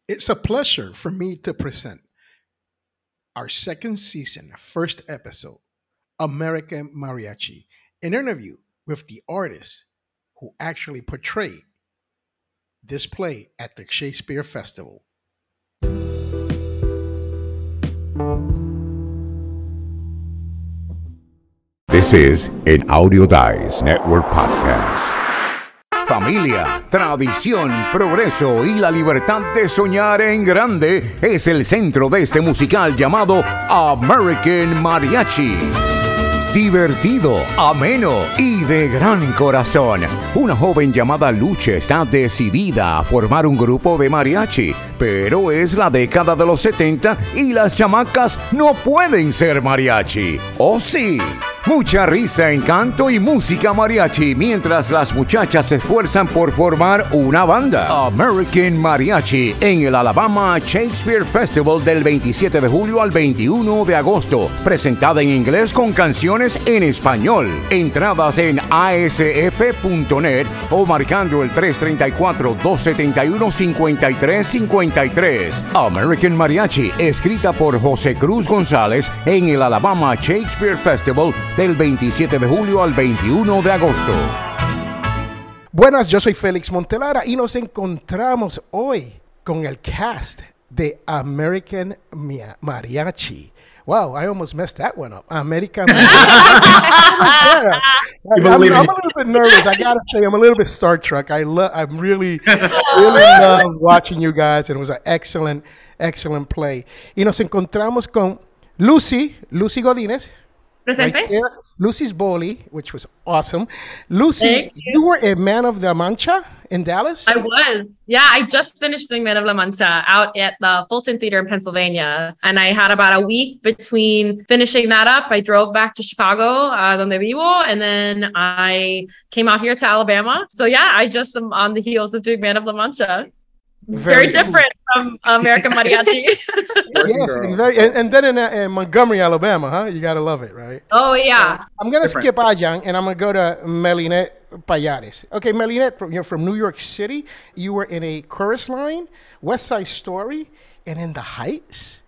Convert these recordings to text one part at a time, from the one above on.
It's a pleasure for me to present our second season, first episode, American Mariachi, an interview with the artists who actually portray this play at the Shakespeare Festival. This is an Audio Dice Network podcast. Familia, tradición, progreso y la libertad de soñar en grande es el centro de este musical llamado American Mariachi. Divertido, ameno y de gran corazón. Una joven llamada Luche está decidida a formar un grupo de mariachi, pero es la década de los 70 y las chamacas no pueden ser mariachi. ¿O sí? Mucha risa, encanto y música mariachi mientras las muchachas se esfuerzan por formar una banda. American Mariachi en el Alabama Shakespeare Festival del 27 de julio al 21 de agosto. Presentada en inglés con canciones en español. Entradas en asf.net o marcando el 334-271-5353. American Mariachi, escrita por José Cruz González en el Alabama Shakespeare Festival del 27 de julio al 21 de agosto. Buenas, yo soy Félix Montelara y nos encontramos hoy con el cast de American Mariachi. Wow, I almost messed that one up. American Mariachi. I'm a little bit nervous. I gotta say, I'm a little bit Star Trek. I'm really love watching you guys, and it was an excellent play. Y nos encontramos con Lucy Godínez. Presente. Right there. Lucy's Boli, which was awesome. Lucy, you were a Man of La Mancha in Dallas? I was. Yeah, I just finished doing Man of La Mancha out at the Fulton Theater in Pennsylvania. And I had about a week between finishing that up. I drove back to Chicago, donde vivo, and then I came out here to Alabama. So yeah, I just am on the heels of doing Man of La Mancha. Very different from American Mariachi. Yes, and then in Montgomery, Alabama, huh? You gotta love it, right? Oh yeah. So I'm gonna skip Ayang and I'm gonna go to Melinette Payares. Okay, Melinette, you're from New York City. You were in a Chorus Line, West Side Story, and in The Heights.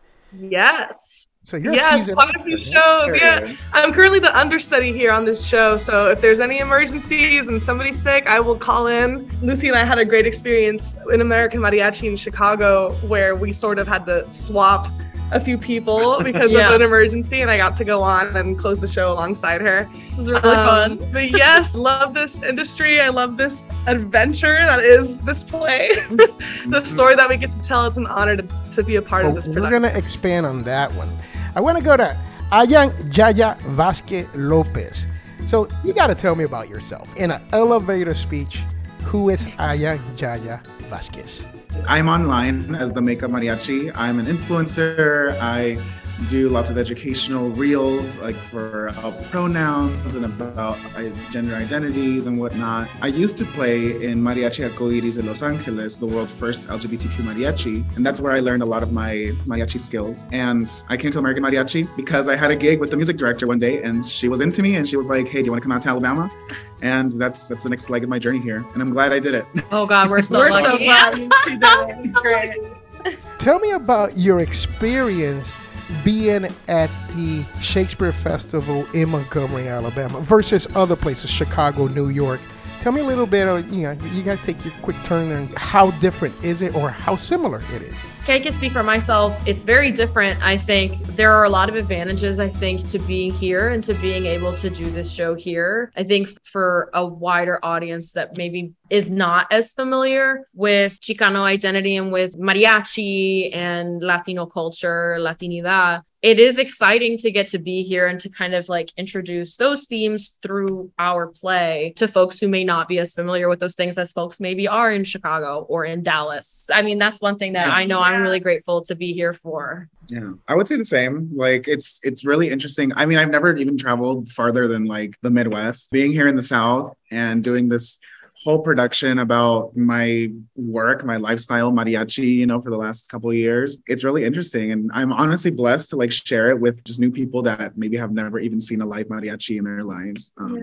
Yes. So you're quite a few shows. Yeah, I'm currently the understudy here on this show. So if there's any emergencies and somebody's sick, I will call in. Lucy and I had a great experience in American Mariachi in Chicago, where we sort of had to swap a few people because of an emergency, and I got to go on and close the show alongside her. It was really fun. But yes, love this industry. I love this adventure that is this play. The story that we get to tell. It's an honor to be a part of this production. We're gonna expand on that one. I want to go to Ayang Yaya Vasquez Lopez. So you got to tell me about yourself. In an elevator speech, who is Ayang Yaya Vasquez? I'm online as the Makeup Mariachi. I'm an influencer. I do lots of educational reels, like for pronouns and about gender identities and whatnot. I used to play in Mariachi Arcoiris in Los Angeles, the world's first LGBTQ mariachi, and that's where I learned a lot of my mariachi skills. And I came to American Mariachi because I had a gig with the music director one day, and she was into me, and she was like, "Hey, do you want to come out to Alabama?" And that's the next leg of my journey here, and I'm glad I did it. Oh God, we're so lucky. So glad she did it. It's great. Tell me about your experience being at the Shakespeare Festival in Montgomery, Alabama versus other places, Chicago, New York. Tell me a little bit of, you guys take your quick turn and how different is it or how similar it is? Okay, I can speak for myself. It's very different. I think there are a lot of advantages, I think, to being here and to being able to do this show here. I think for a wider audience that maybe is not as familiar with Chicano identity and with mariachi and Latino culture, Latinidad, it is exciting to get to be here and to kind of like introduce those themes through our play to folks who may not be as familiar with those things as folks maybe are in Chicago or in Dallas. I mean, that's one thing that I know I'm really grateful to be here for. Yeah, I would say the same. Like, it's really interesting. I mean, I've never even traveled farther than like the Midwest. Being here in the South and doing this whole production about my work, my lifestyle, mariachi, for the last couple of years. It's really interesting. And I'm honestly blessed to like share it with just new people that maybe have never even seen a live mariachi in their lives.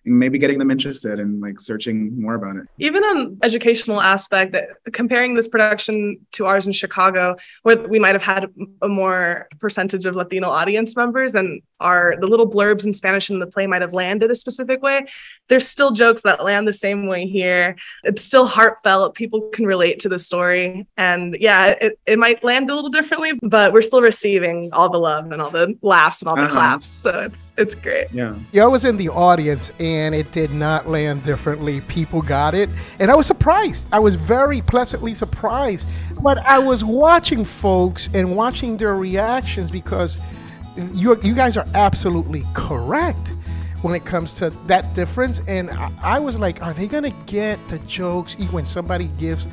maybe getting them interested and like searching more about it. Even on educational aspect, comparing this production to ours in Chicago, where we might have had a more percentage of Latino audience members and the little blurbs in Spanish in the play might have landed a specific way, there's still jokes that land the same way here. It's still heartfelt. People can relate to the story. And yeah, it might land a little differently, but we're still receiving all the love and all the laughs and all the claps. So it's great. Yeah. I was in the audience and it did not land differently. People got it. And I was surprised. I was very pleasantly surprised. But I was watching folks and watching their reactions because you guys are absolutely correct when it comes to that difference. And I was like, are they going to get the jokes when somebody gives,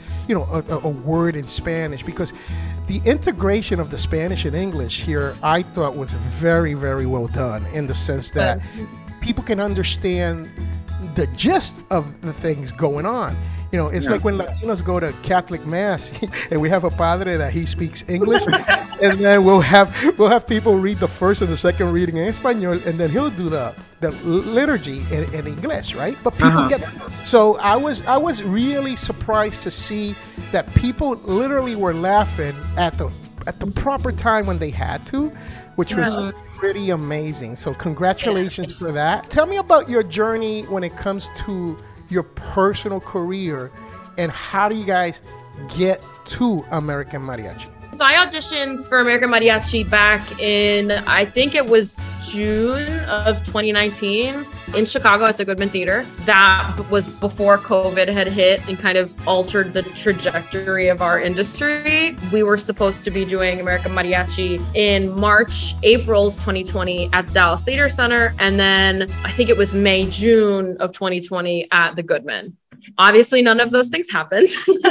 a word in Spanish? Because the integration of the Spanish and English here, I thought was very, very well done in the sense that people can understand the gist of the things going on. It's like when Latinos go to Catholic Mass and we have a padre that he speaks English, and then we'll have people read the first and the second reading in Espanol, and then he'll do the liturgy in English, right? But people get this. So I was really surprised to see that people literally were laughing at the proper time when they had to, which was pretty amazing. So congratulations for that. Tell me about your journey when it comes to your personal career, and how do you guys get to American Mariachi? So I auditioned for American Mariachi back in, I think it was June of 2019 in Chicago at the Goodman Theater. That was before COVID had hit and kind of altered the trajectory of our industry. We were supposed to be doing American Mariachi in March, April of 2020 at the Dallas Theater Center. And then I think it was May, June of 2020 at the Goodman. Obviously, none of those things happened.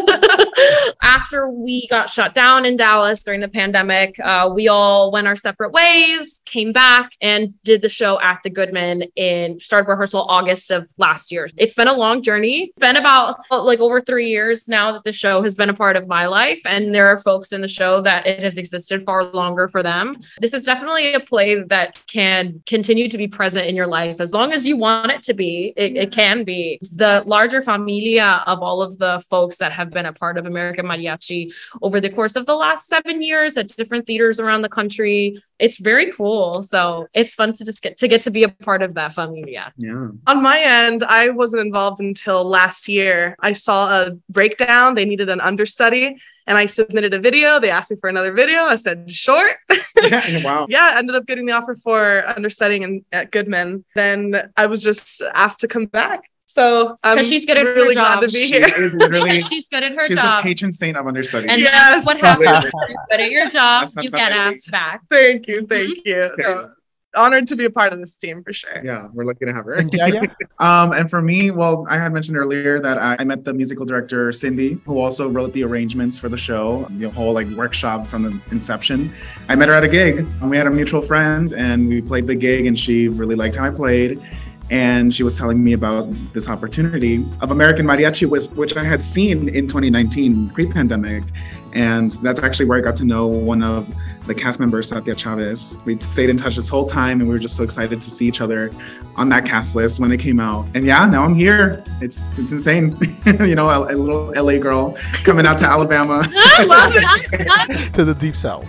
After we got shut down in Dallas during the pandemic, we all went our separate ways, came back and did the show at the Goodman started rehearsal August of last year. It's been a long journey. It's been about over 3 years now that the show has been a part of my life. And there are folks in the show that it has existed far longer for them. This is definitely a play that can continue to be present in your life as long as you want it to be. It can be. The larger familia of all of the folks that have been a part of American Mariachi over the course of the last 7 years at different theaters around the country. It's very cool. So it's fun to just get to be a part of that familia. Yeah. On my end, I wasn't involved until last year. I saw a breakdown. They needed an understudy. And I submitted a video. They asked me for another video. I said, sure. Yeah, wow. Yeah, I ended up getting the offer for understudying at Goodman. Then I was just asked to come back. So I'm she's good at really her job. glad to be here. Is literally, Because she's good at her she's job. the patron saint of understudy. And Yes. that's what happens. You're good at your job. That's You not get that asked back. Thank you. No, honored to be a part of this team for sure. Yeah, we're lucky to have her. And Yaya? And for me, well, I had mentioned earlier that I met the musical director, Cindy, who also wrote the arrangements for the show, the whole workshop from the inception. I met her at a gig, and we had a mutual friend, and we played the gig, and she really liked how I played. And she was telling me about this opportunity of American Mariachi, which I had seen in 2019, pre-pandemic. And that's actually where I got to know one of the cast members, Satya Chavez. We stayed in touch this whole time, and we were just so excited to see each other on that cast list when it came out. And yeah, now I'm here. It's insane. A little LA girl coming out to Alabama. I love it. To the deep south.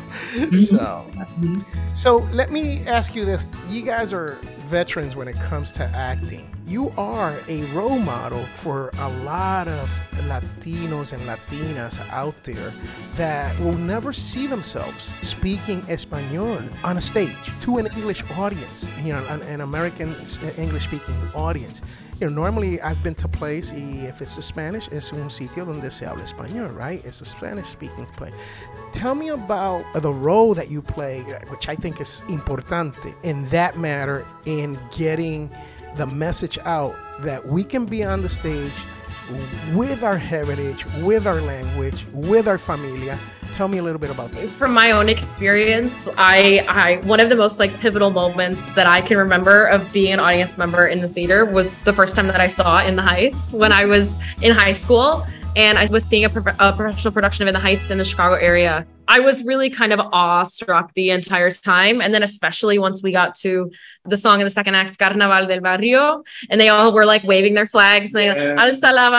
So let me ask you this. You guys are veterans when it comes to acting. You are a role model for a lot of Latinos and Latinas out there that will never see themselves speaking Espanol on a stage to an English audience, an American English-speaking audience. Normally I've been to place, if it's Spanish, es un sitio donde se habla español, right? It's a Spanish-speaking play. Tell me about the role that you play, which I think is importante in that matter, in getting the message out that we can be on the stage with our heritage, with our language, with our familia. Tell me a little bit about that. From my own experience, I one of the most pivotal moments that I can remember of being an audience member in the theater was the first time that I saw In the Heights when I was in high school. And I was seeing a professional production of In the Heights in the Chicago area. I was really kind of awestruck the entire time. And then especially once we got to the song in the second act, Carnaval del Barrio, and they all were like waving their flags. And they Alza la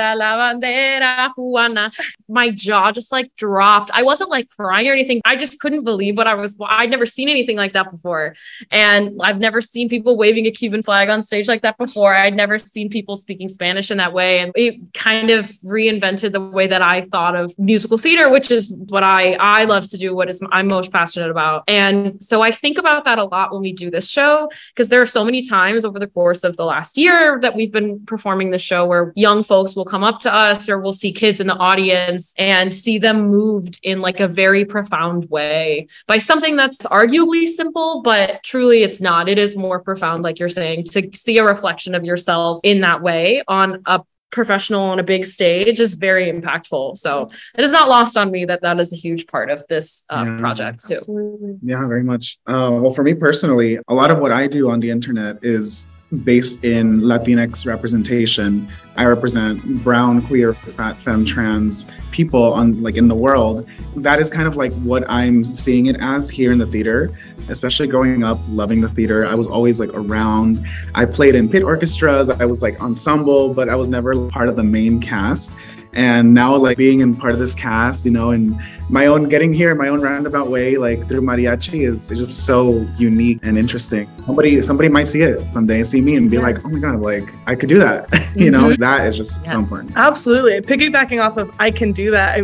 bandera cubana. My jaw just like dropped. I wasn't like crying or anything. I just couldn't believe I'd never seen anything like that before. And I've never seen people waving a Cuban flag on stage like that before. I'd never seen people speaking Spanish in that way. And it kind of reinvented the way that I thought of musical theater, which is what I love to do, I'm most passionate about. And so I think about that a lot when we do this show, because there are so many times over the course of the last year that we've been performing the show where young folks will come up to us, or we'll see kids in the audience and see them moved in like a very profound way by something that's arguably simple, but truly it's not. It is more profound, like you're saying, to see a reflection of yourself in that way on a professional on a big stage is very impactful. So it is not lost on me that is a huge part of this project too. Absolutely. Yeah, very much. Well, for me personally, a lot of what I do on the internet is based in Latinx representation. I represent brown, queer, fat, femme, trans people in the world. That is kind of like what I'm seeing it as here in the theater, especially growing up, loving the theater. I was always like around. I played in pit orchestras. I was like ensemble, but I was never part of the main cast. And now like being in part of this cast, and getting here in my own roundabout way, like through mariachi is just so unique and interesting. Somebody might see it someday, see me and be like, oh my God, like I could do that. That is just so important. Absolutely. Piggybacking off of I can do that.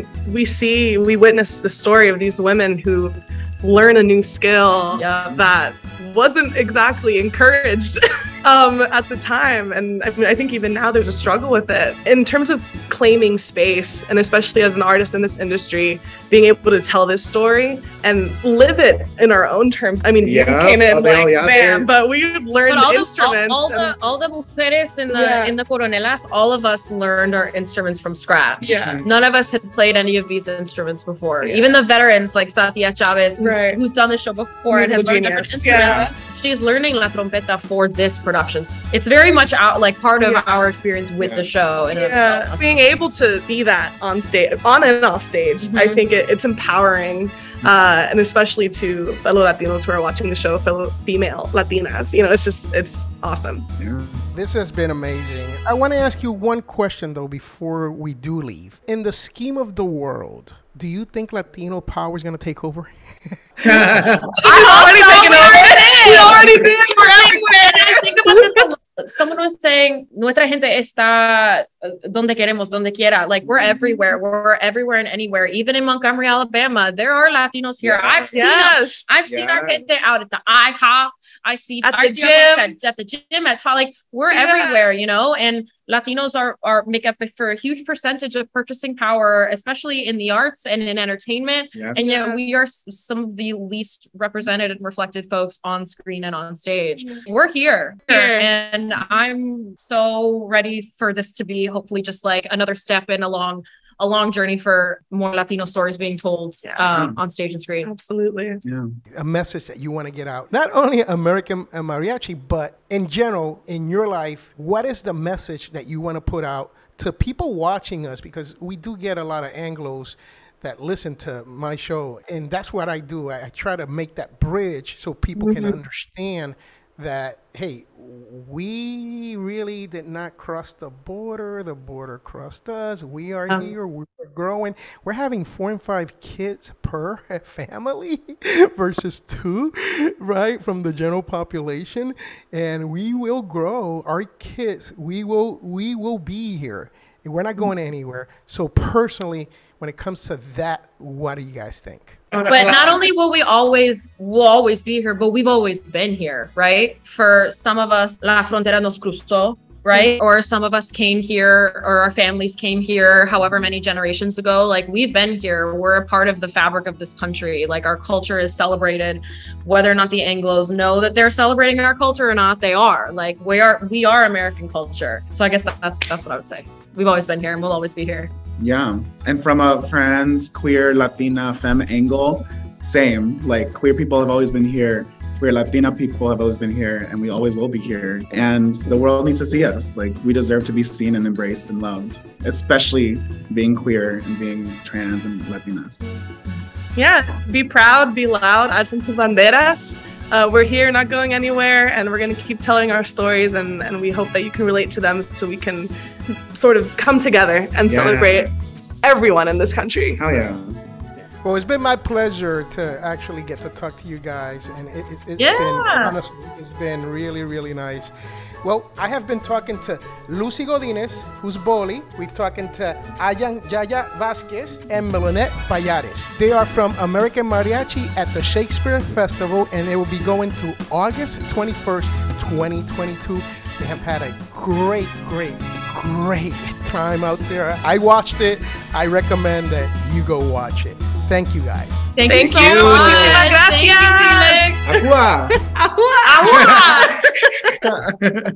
We witness the story of these women who learn a new skill that wasn't exactly encouraged at the time. And I think even now there's a struggle with it. In terms of claiming space, and especially as an artist in this industry, being able to tell this story and live it in our own terms. I mean, you came in but we learned the instruments. All the mujeres in the coronelas, all of us learned our instruments from scratch. Yeah. None of us had played any of these instruments before. Yeah. Even the veterans like Satya Chavez, who's done the show before and has learned different instruments. Yeah. She's learning la trompeta for this production. It's very much part of our experience with the show. Being able to be that on stage, on and off stage, I think it's empowering. And especially to fellow Latinos who are watching the show, fellow female Latinas, it's awesome. Yeah. This has been amazing. I want to ask you one question though before we do leave. In the scheme of the world, do you think Latino power is going to take over? already taken over. We already did. I think about this a lot. Someone was saying, nuestra gente está donde queremos, donde quiera. Like we're everywhere. We're everywhere and anywhere. Even in Montgomery, Alabama, there are Latinos here. I've seen them. I've seen our gente out at the IHOP. I see at the gym, at the gym, like we're everywhere, and Latinos make up for a huge percentage of purchasing power, especially in the arts and in entertainment. Yes. And yet we are some of the least represented and reflected folks on screen and on stage. We're here. And I'm so ready for this to be hopefully just like another step in a long journey for more Latino stories being told on stage and screen. Absolutely. Yeah. A message that you want to get out, not only American Mariachi, but in general, in your life, what is the message that you want to put out to people watching us? Because we do get a lot of Anglos that listen to my show. And that's what I do. I try to make that bridge so people can understand that, hey, we really did not cross the border crossed us. We are here, we're growing. We're having 4 and 5 kids per family versus 2, right, from the general population. And we will grow. Our kids, we will be here. We're not going anywhere. So personally, when it comes to that, what do you guys think? But not only will we always be here, but we've always been here, right? For some of us, la frontera nos cruzó, right? Or some of us came here, or our families came here however many generations ago. Like we've been here. We're a part of the fabric of this country. Like our culture is celebrated, whether or not the Anglos know that they're celebrating our culture or not, they are. Like we are American culture. So I guess that's what I would say. We've always been here and we'll always be here. Yeah. And from a trans, queer, Latina, femme angle, same. Like queer people have always been here. Queer Latina people have always been here, and we always will be here. And the world needs to see us. Like we deserve to be seen and embraced and loved, especially being queer and being trans and Latinas. Yeah, be proud, be loud, alzan sus banderas. We're here, not going anywhere, and we're going to keep telling our stories, and we hope that you can relate to them so we can sort of come together and celebrate everyone in this country. Hell yeah. Well, it's been my pleasure to actually get to talk to you guys, and it's been, honestly, it's been really, really nice. Well, I have been talking to Lucy Godinez, who's Boli. We've talking to Ayan Yaya Vasquez and Melonet Payares. They are from American Mariachi at the Shakespeare Festival, and they will be going through August 21st, 2022. They have had a great time out there. I watched it. I recommend that you go watch it. Thank you, guys. Thank you so Muchísimas much. gracias. Thank you, Felix. Agua. Agua. Agua.